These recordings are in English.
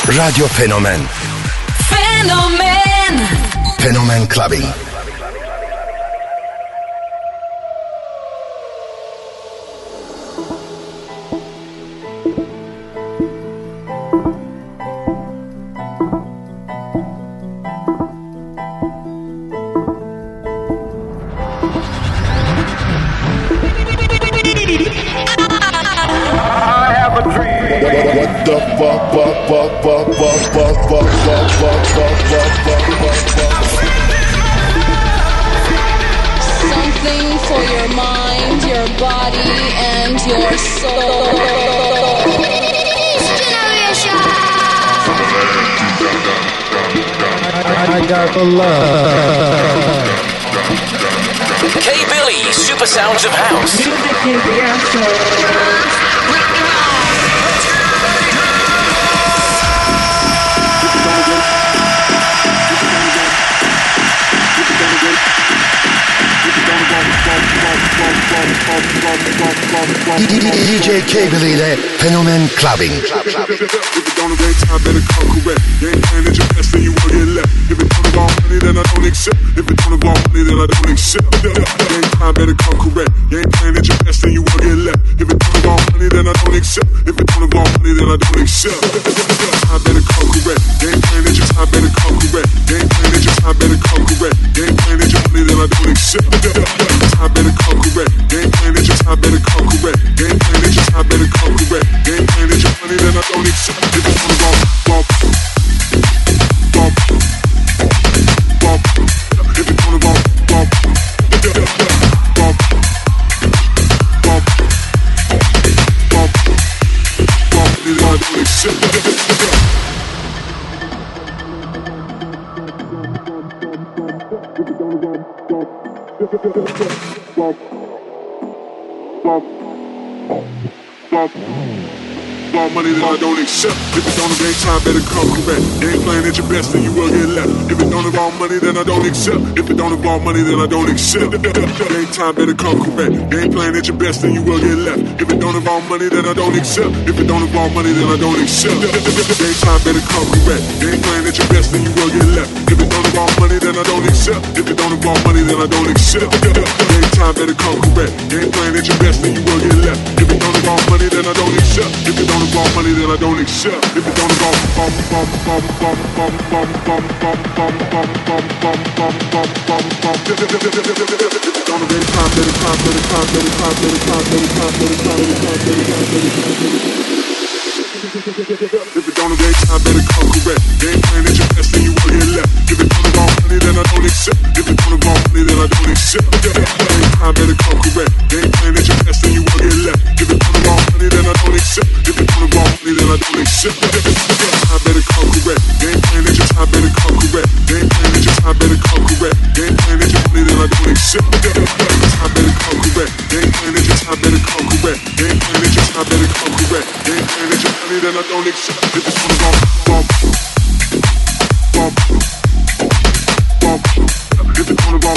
Radyo Fenomen. Fenomen. Fenomen Clubbing. Something for your mind, your body, and your soul. I got the love. K Billy, Super Sounds of House. Music is the answer. DJ K Billy ile Fenomen Clubbing. If it don't arrange time, better come correct. You ain't playing at your best, then you will get left. If it don't involve money, then I don't accept. If it don't involve money, then I don't accept. You ain't time, better come correct. You ain't playing at your best, then you will get left. If it don't involve money, then I don't accept. If it don't involve money, then I don't accept. Time better come correct. You ain't playing at your time, better come correct. You ain't playing at your time, better come correct. You ain't playing at your money, then I don't accept. Time better come correct. You ain't playing at your time, better come correct. You ain't playing at your time, better come correct. You ain't playing at your money, then I don't accept. If it don't involve if it don't involve money, then I don't accept. If it don't involve time, better come correct. You ain't playing at your best, then you will get left. If it don't involve money, then I don't accept. If it don't involve money, then I don't accept. Ain't time, better come correct. You ain't playing at your best, then you will get left. If it don't involve money, then I don't accept. If it don't involve money, then I don't accept. Ain't time, better come correct. You ain't playing at your best, then you will get left. If it don't involve money, then I don't accept. If it don't involve money, then I don't accept. Ain't time, better come correct. You ain't playing at your best, then you will get left. If it don't involve money, then I don't accept. If it don't involve money, then I don't accept. If it don't involve if it don't arrange time, better come correct. You ain't playing at your best, then you will get left. If it don't involve money, then I don't accept. If it don't involve money, then I don't accept. Ain't time, better come correct. You ain't playing at your best, then you will get left. If it don't involve money, then I don't accept. If it don't involve money, then I don't accept. Time, better come correct. You ain't playing at your time, better come correct. You ain't playing at your time, better come correct. You ain't playing at your money, then I don't accept. Time, better come correct. You ain't playing at your time, better come correct. You ain't playing at your time, better come correct. You ain't playing at your money, then I don't accept. If it's gonna if it's gonna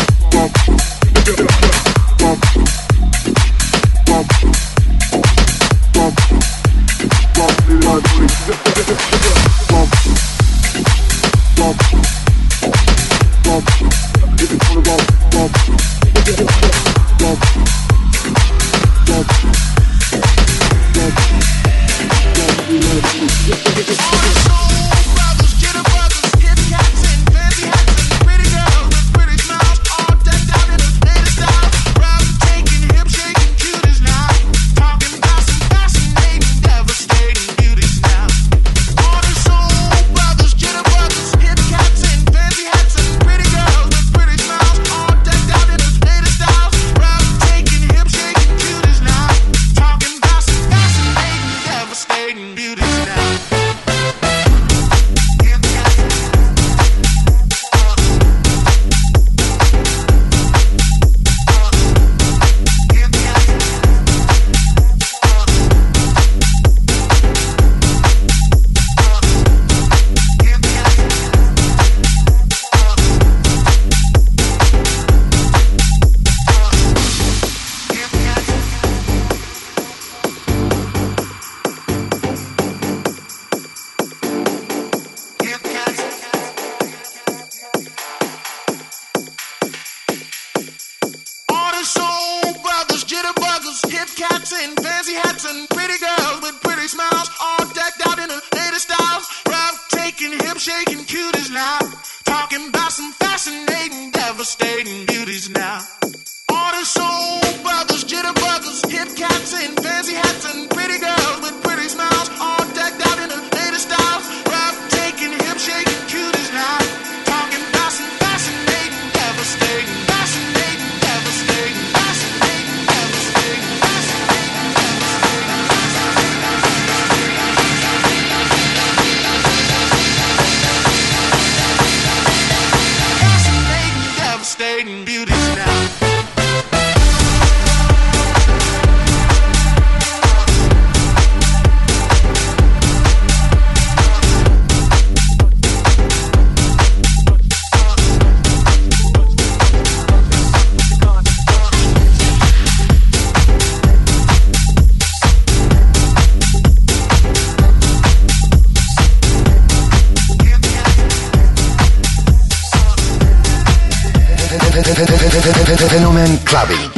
hip-shaking cuties now. Talking about some fascinating, devastating beauties now. All the soul brothers, jitterbuggers, hip cats in fancy hats and pretty girls with pretty smiles, all decked out in the latest styles. Breathtaking, hip-shaking cuties now. Talking about some fascinating, devastating, fascinating, devastating, fascinating, devastating, fascinating, devastating beauties now. Fenomen Clubbing.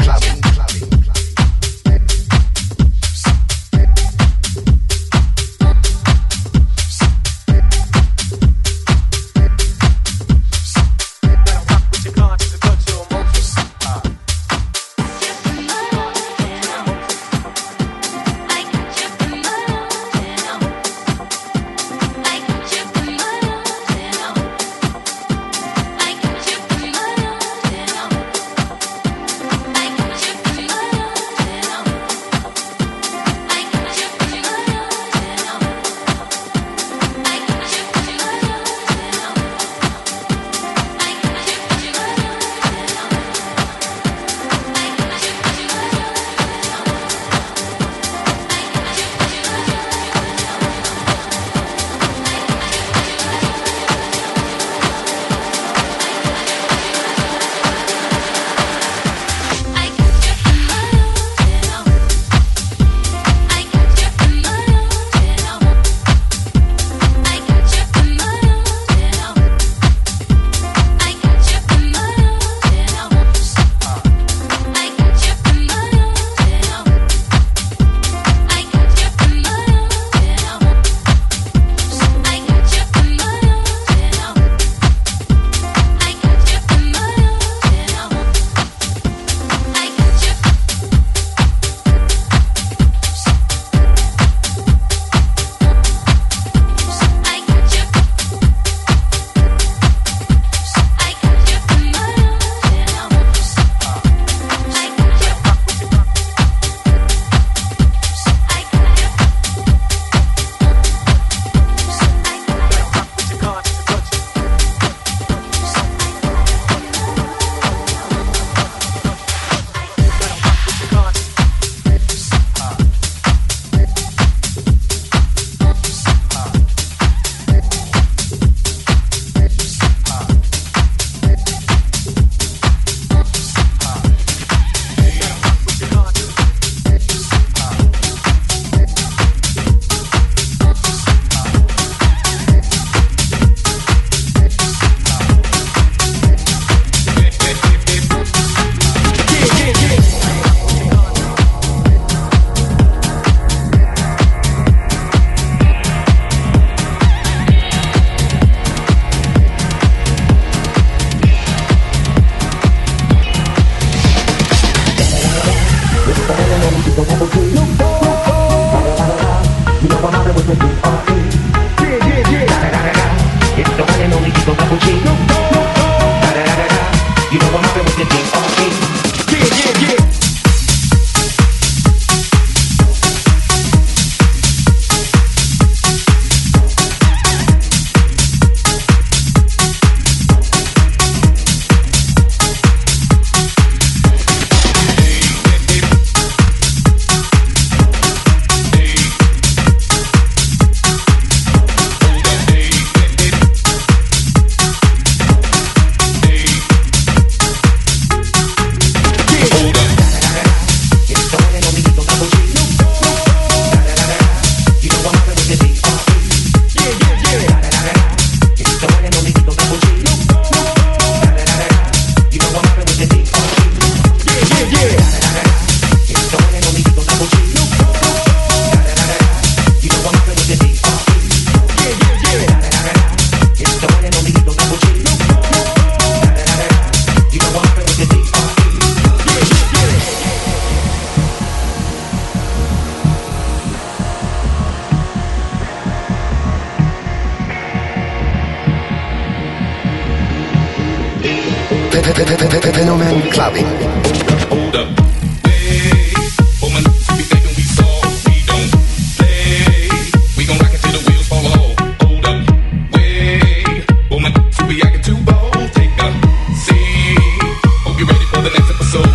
Fenomen Clubbing. Hold up. Hey, woman, we thinking we soft, we don't play. We gon' rock it till the wheels fall off. Hold up. Wait, woman, we acting too bold. Take a seat. Hope you're ready for the next episode.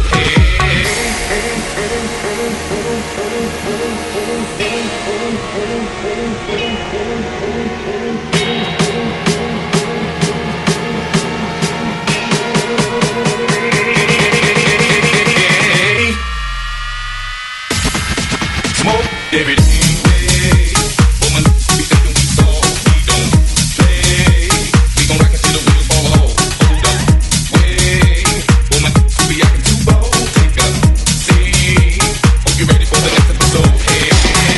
Every day, woman, we thinking we soft, we don't play. We gon' rock it till the wheels fall off. Hold up, wait, woman, we acting too bold. Take a seat. Hope you're ready for the next episode. Hey,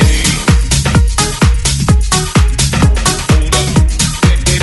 hold up, hey,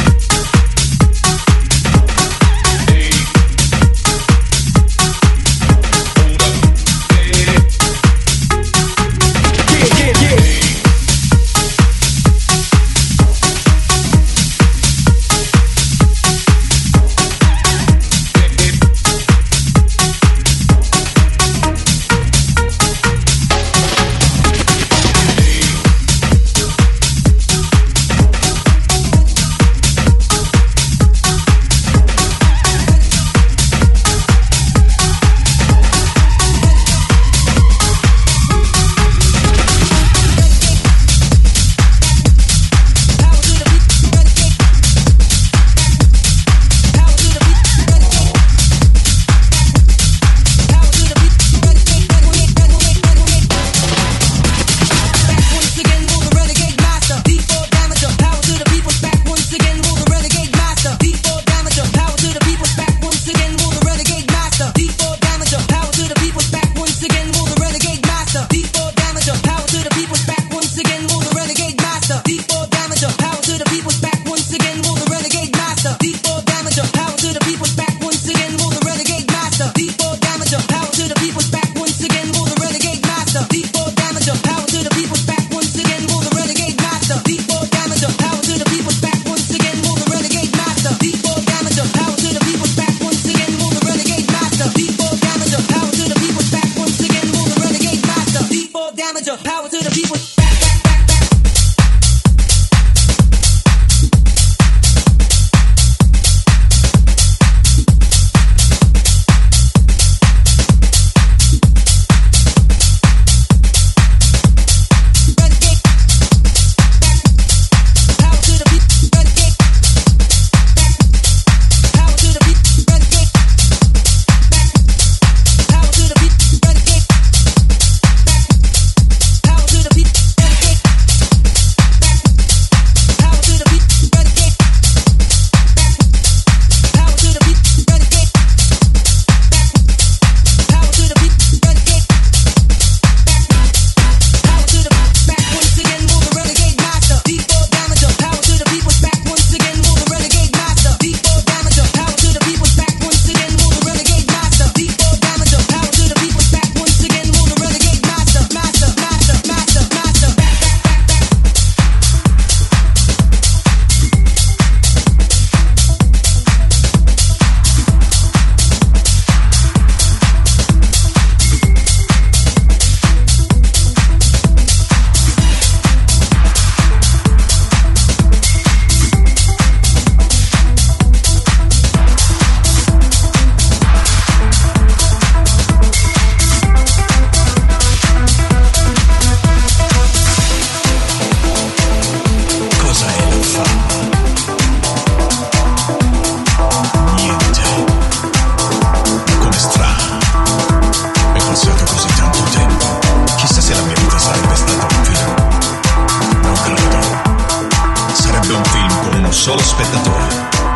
solo spettatore.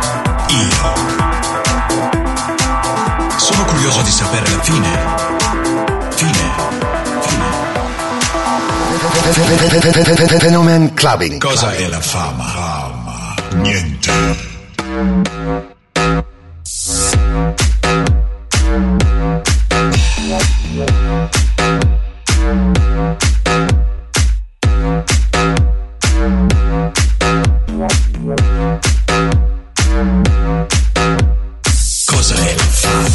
Io. Sono curioso di sapere la fine. Fenomen Clubbing. Cosa è la fama? Niente. Cosa è la fama?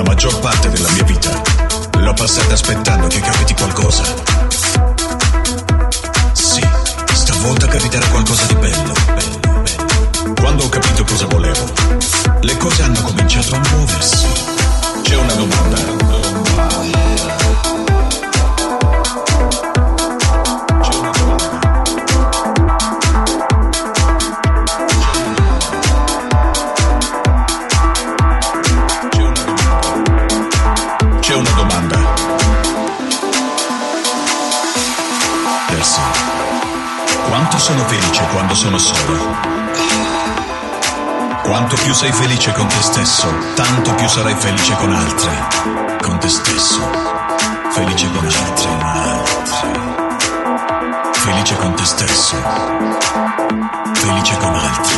La maggior parte della mia vita l'ho passata aspettando che capiti qualcosa. Sì, stavolta capiterà qualcosa di bello. Quando ho capito cosa volevo, le cose hanno cominciato a muoversi. C'è una domanda. C'è una domanda. Percy, quanto sono felice quando sono solo? Quanto più sei felice con te stesso, tanto più sarai felice con altri. Con te stesso, felice con altri. Felice con te stesso, felice con altri.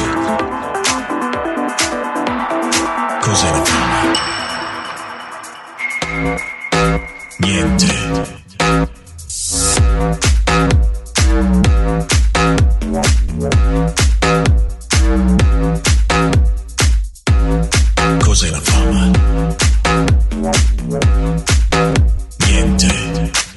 Cos'è la fame? Niente. Cos'è la fama? Niente.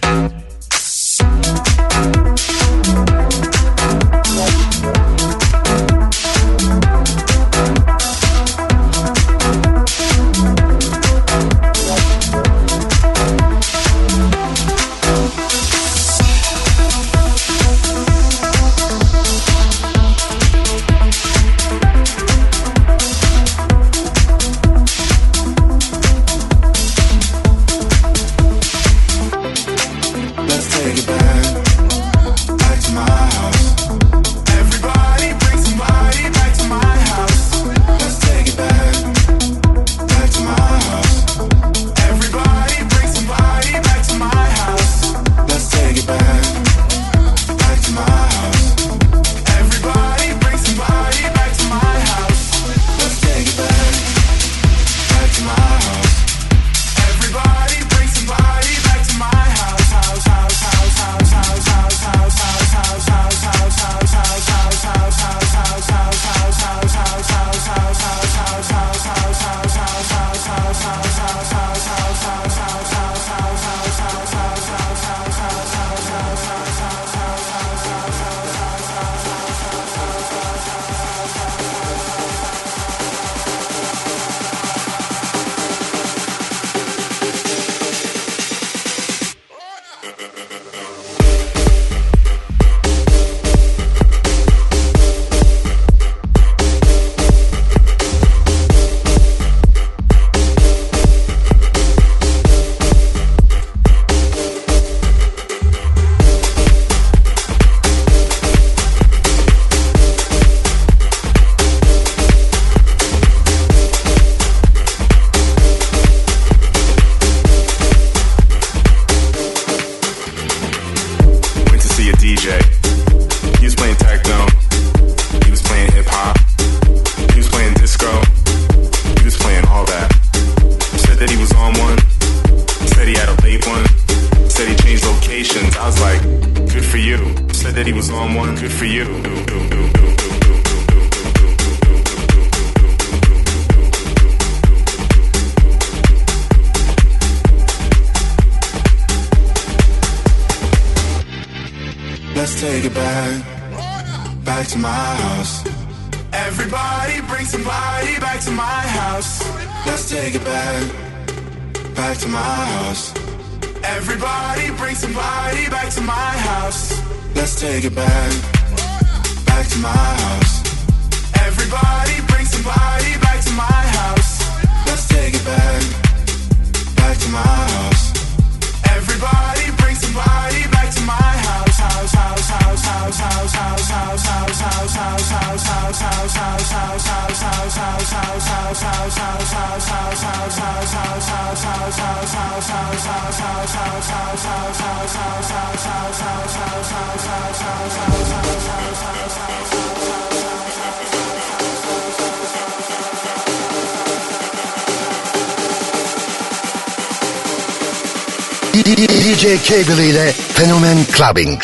DJ Cable ile Fenomen Clubbing.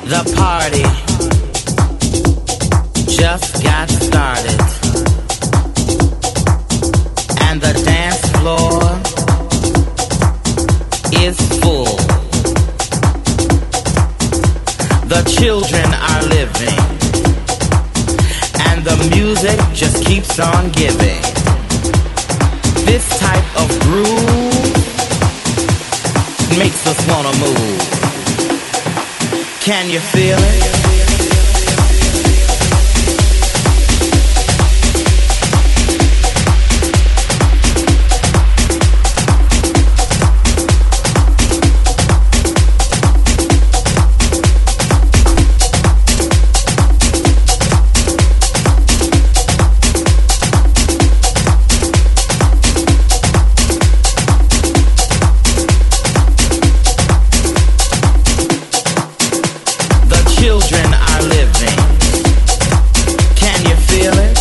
The party just got started, and the dance floor is full. The children are living, and the music just keeps on giving. This type of groove makes us wanna move. Can you feel it? Children are living. Can you feel it?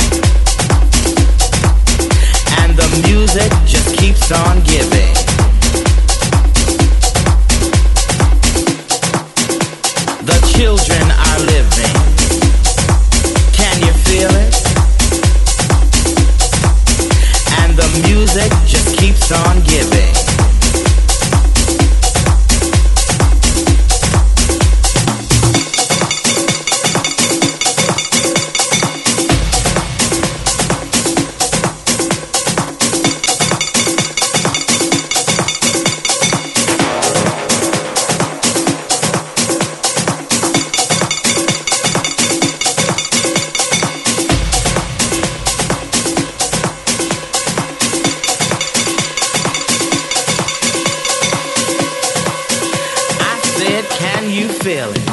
And the music just keeps on giving. The children are living. Can you feel it? And the music just keeps on giving. Can you feel it?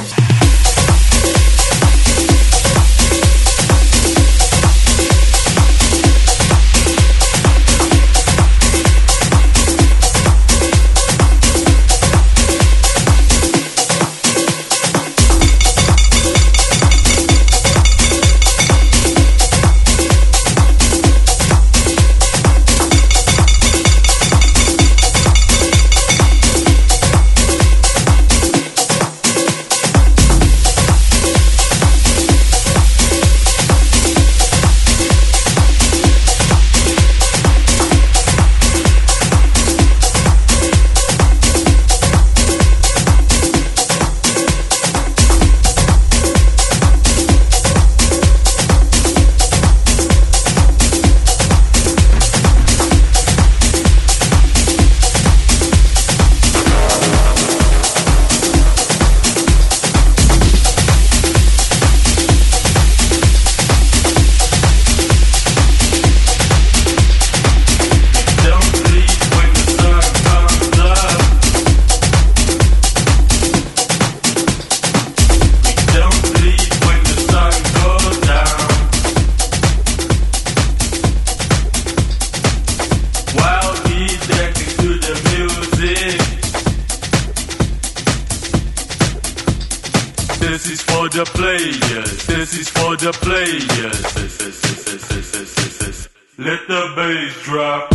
This is for the players. This is for the players. Let the bass drop.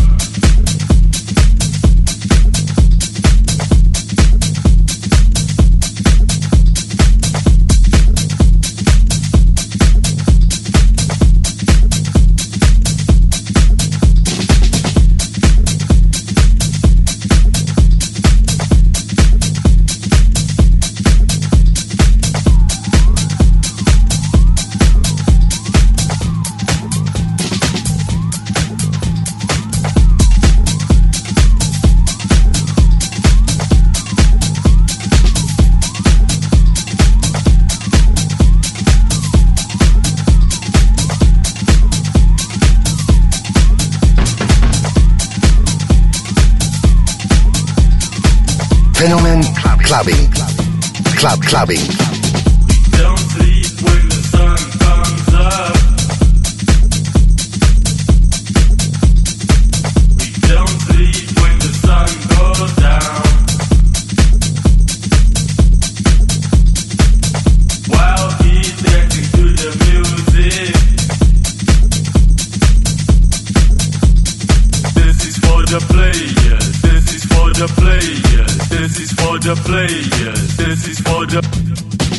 Fenomen Clubbing. Clubbing. Don't sleep when the sun comes up. We don't sleep when the sun goes down. While he's dancing to the music. This is for the players. This is for the players. This is for the players. This is for the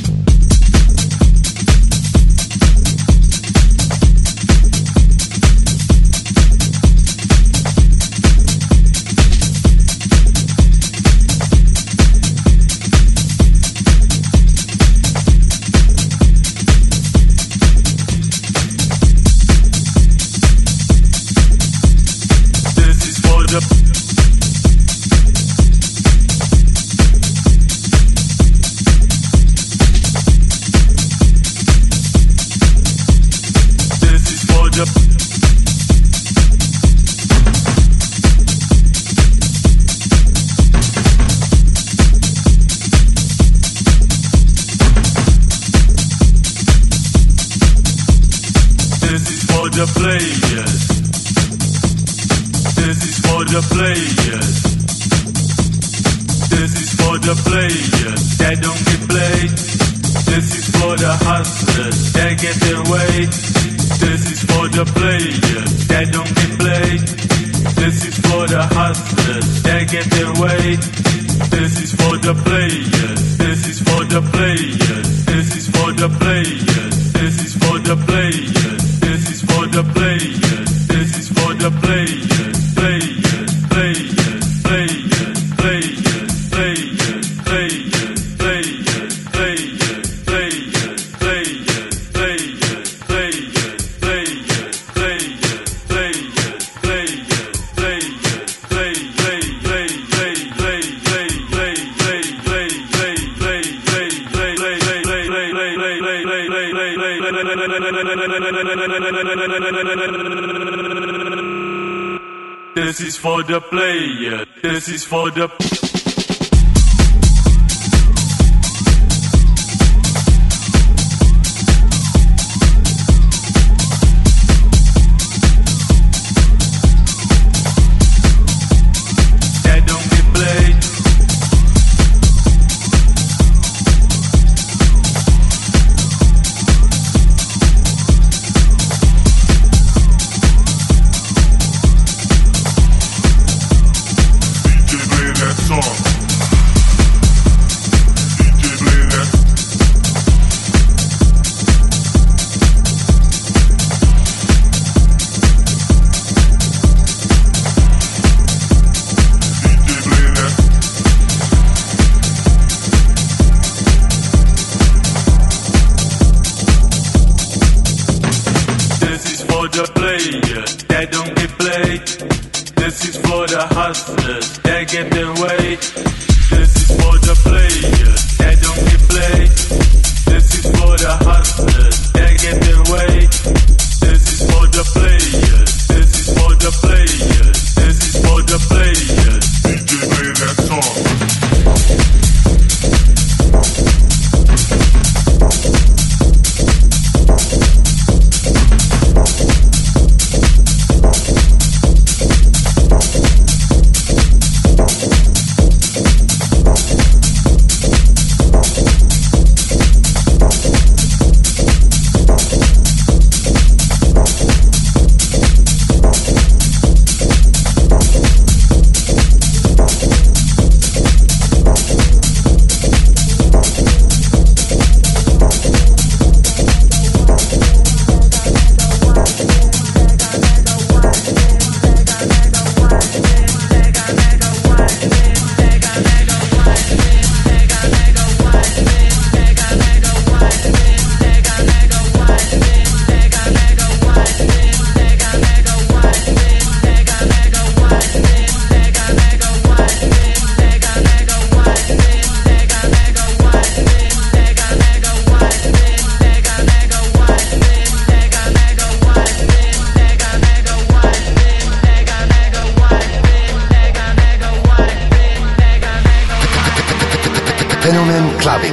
This is for the player. This is for the. Fenomen Clubbing.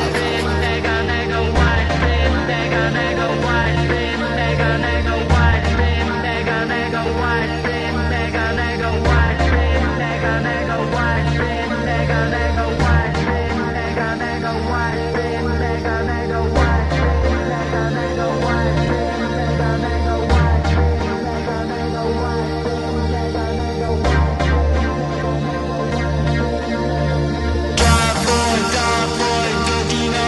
Dark boy, good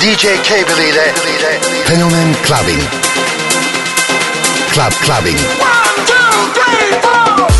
DJ K-Billy ile Fenomen Clubbing. Clubbing. 1, 2, 3, 4.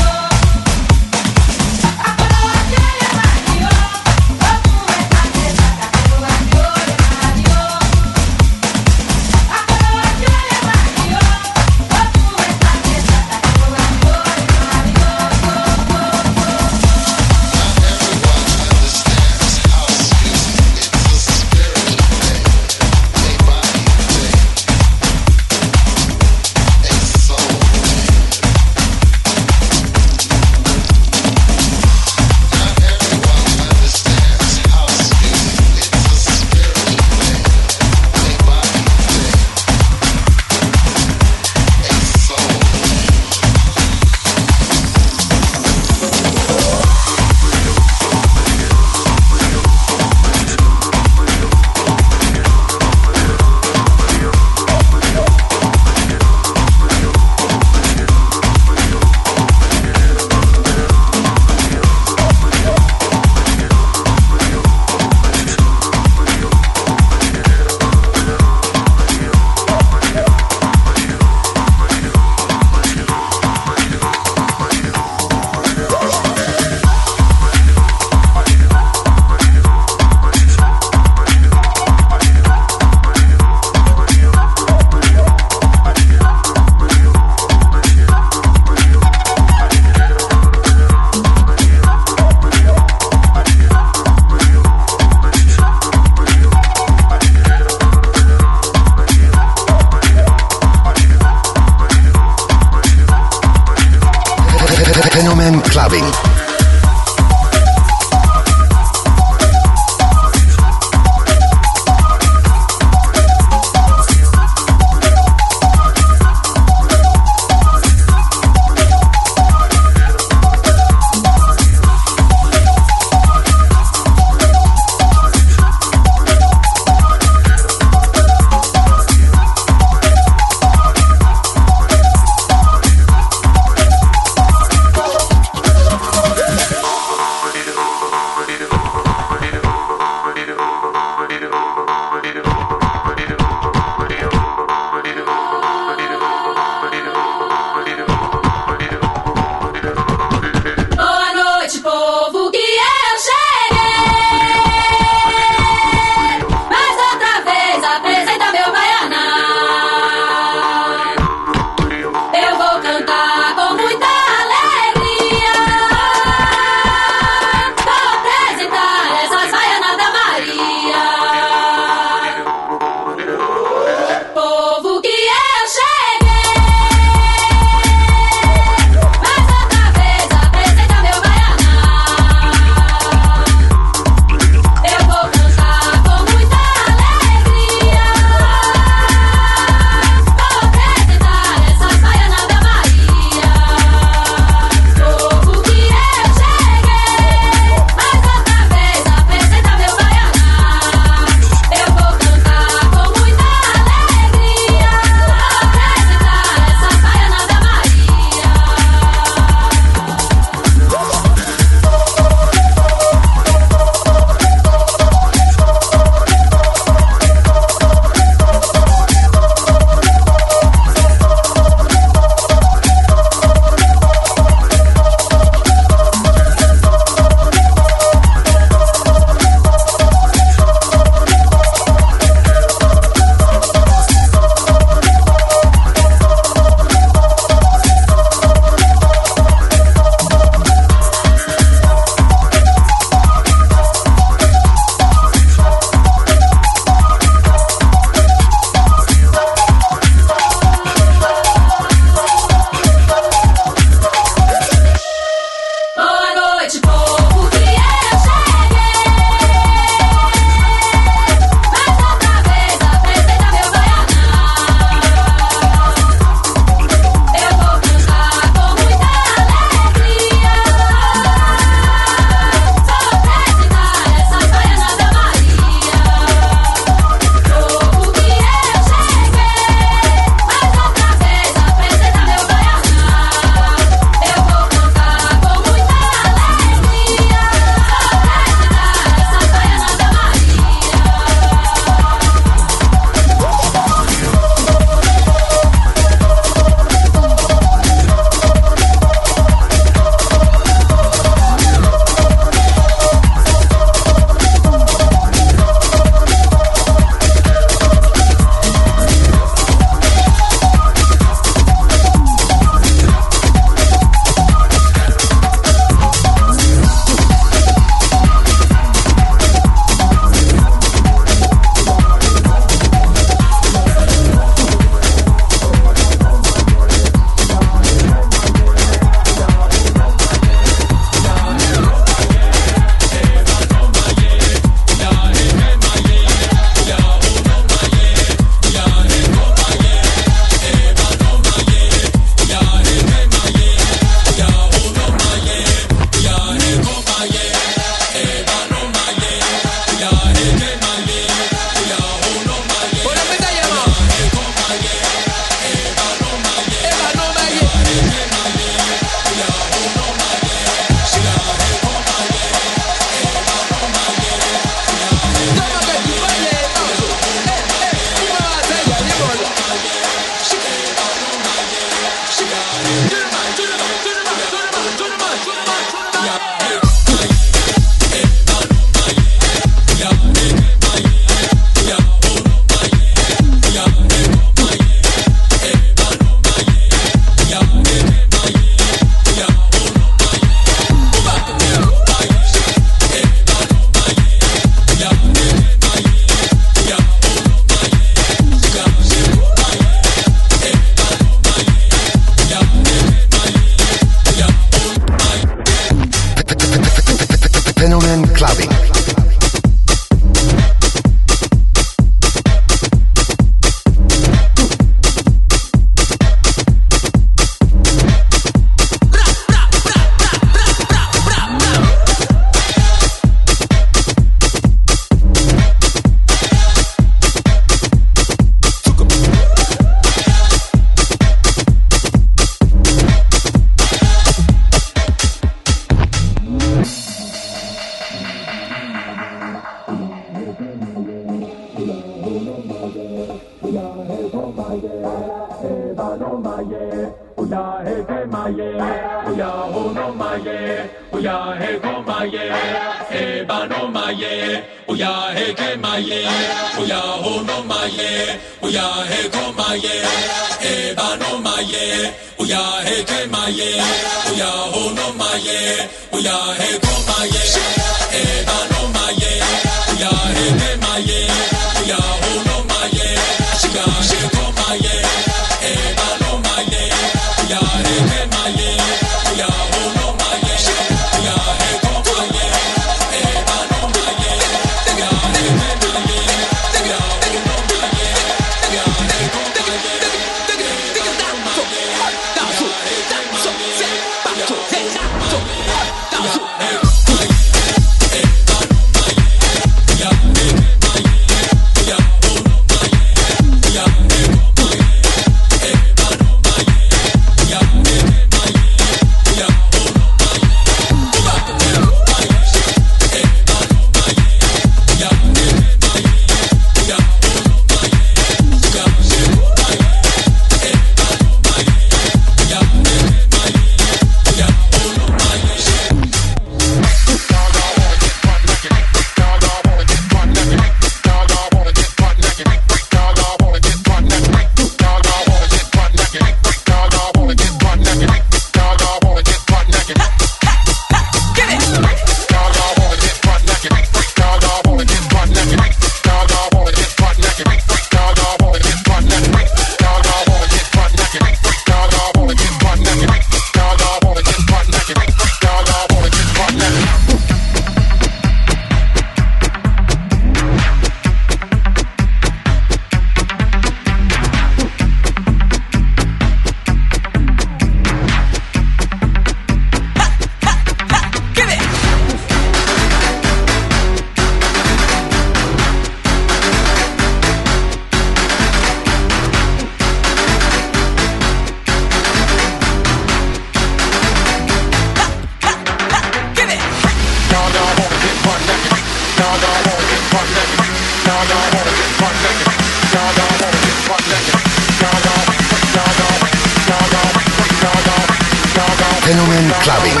Fenomen Clubbing.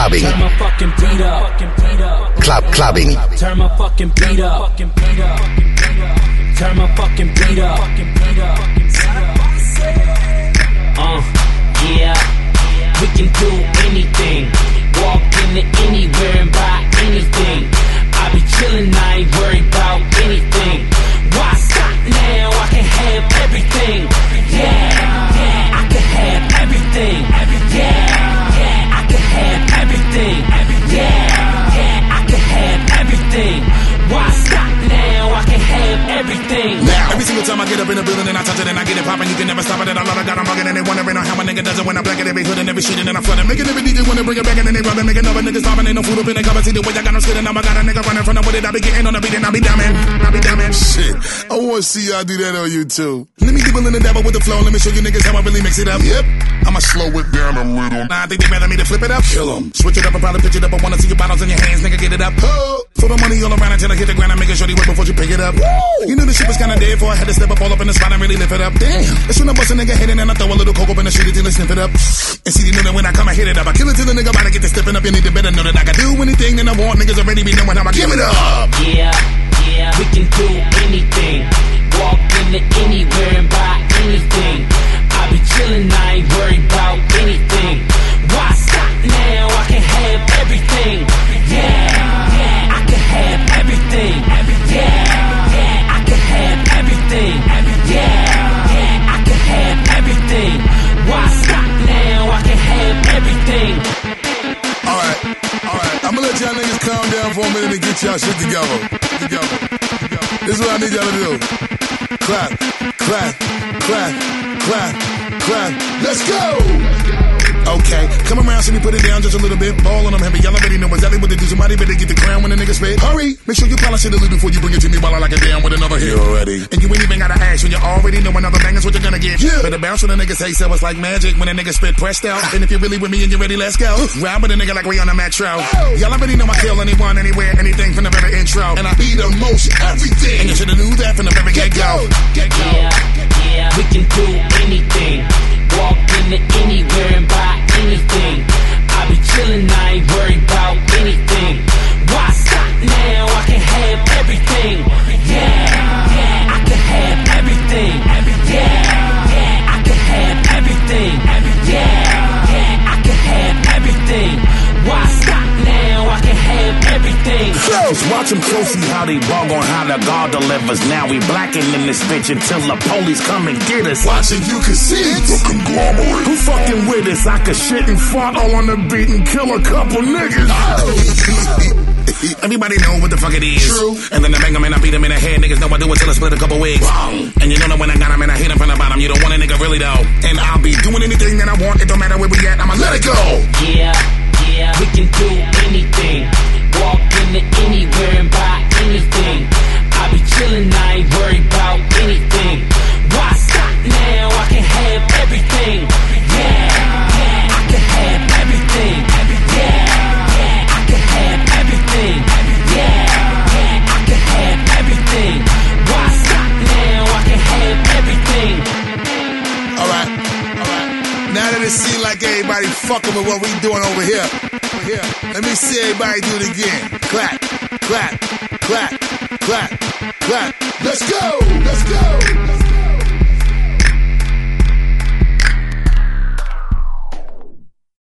clubbing. Turn my fucking beat up. Clubbing. Turn my fucking beat up. Turn my fucking beat up. Yeah. We can do anything. Walk into anywhere and buy anything. I be chillin', I ain't worried about anything. Why stop now? I can have everything. Yeah, I can have everything. Yeah, I can have everything. Yeah, I can have everything. Why stop now? I can have everything. Now, every single time I get up in the building and I touch it and I get it poppin', you can never stop it. And I love it, got 'em buggin' and they wondering how a nigga does it when I black it every hood and every shit and then I flood it. Making every DJ wanna bring it back and then they rubbin', making other niggas stoppin'. Ain't no food up in the cover. See the way I got them skidding. Now I got a nigga running from the with it. I be getting on the beat and I be dumbin'. Shit, I wanna see y'all do that on YouTube. Let me dibble in the devil with the flow. Let me show you niggas how I really mix it up. Yep, I'ma slow it down a little. Nah, I think they rather me to flip it up. Kill 'em. Switch it up and probably pitch it up. I wanna see your bottles in your hands, nigga, get it up. Throw the money all around until I hit the ground. I'm making sure they work before you pick it up. Woo! You knew the shit was kinda dead before I had to step up all up in the spot and really lift it up. Damn. That's when I bust a nigga head in and I throw a little coke up in the street until I sniff it up. And see, you know that when I come, I hit it up. I kill it till the nigga about to get to stepping up. You need to better know that I can do anything that I want. Niggas already be knowing how I give it up. Yeah, we can do anything. Walk into anywhere and buy anything. I be chillin', I ain't worried about anything. Why stop now? I can have everything. Yeah, I can have everything. Yeah, I can have everything. Yeah, I can have everything. Why stop now? I can have everything. Alright, I'ma let y'all niggas calm down for a minute and get y'all shit together. This is what I need y'all to do. Clap, clap, clap, clap, clap. Let's go! Okay, come around, see me put it down just a little bit. Ball on them heavy, y'all already know exactly what to do. Somebody better get the crown when the nigga spit. Hurry, make sure you polish it a little before you bring it to me while I lock it down with another hit. You already. And you ain't even gotta ask when you already know another bang is what you're gonna get. Yeah. Better bounce when the nigga say so. It's like magic when a nigga spit pressed out. And if you're really with me and you're ready, let's go. Ride with a nigga like we on a metro. Y'all already know I kill anyone, anywhere, anything from the very intro. And I be the most everything. And you should've knew that from the very get-go. Yeah, we can do anything. Walk into anywhere and buy anything. I be chillin', I ain't worried about anything. Why stop now? I can have everything. Yeah, I can have everything. Yeah, I can have everything. Yeah, I can have everything. Why stop now? I can have everything. Just watch them closely how they bug on how the God delivers. Now we blacking in this bitch until the police come and get us. Watching you can see it. The conglomerate. Who fucking with us? I could shit and fart all on the beat and kill a couple niggas. Everybody know what the fuck it is. True. And then I bang them and I beat them in the head. Niggas know I do it till I split a couple wigs. And you know that when I got them and I hit them from the bottom, you don't want a nigga really though. And I'll be doing anything that I want. It don't matter where we at. I'ma let it go. Yeah, we can do anything. Walk into anywhere and buy anything. I be chillin', I ain't worried about anything. Why stop now? I can have everything. Yeah, I can have everything. Yeah, I can have everything. Yeah, I can have everything. Why stop now? I can have everything. Alright. Now that it seems like everybody fucking with what we doing over here. Let me see everybody do it again. Clap, clap, clap, clap, clap. Let's go!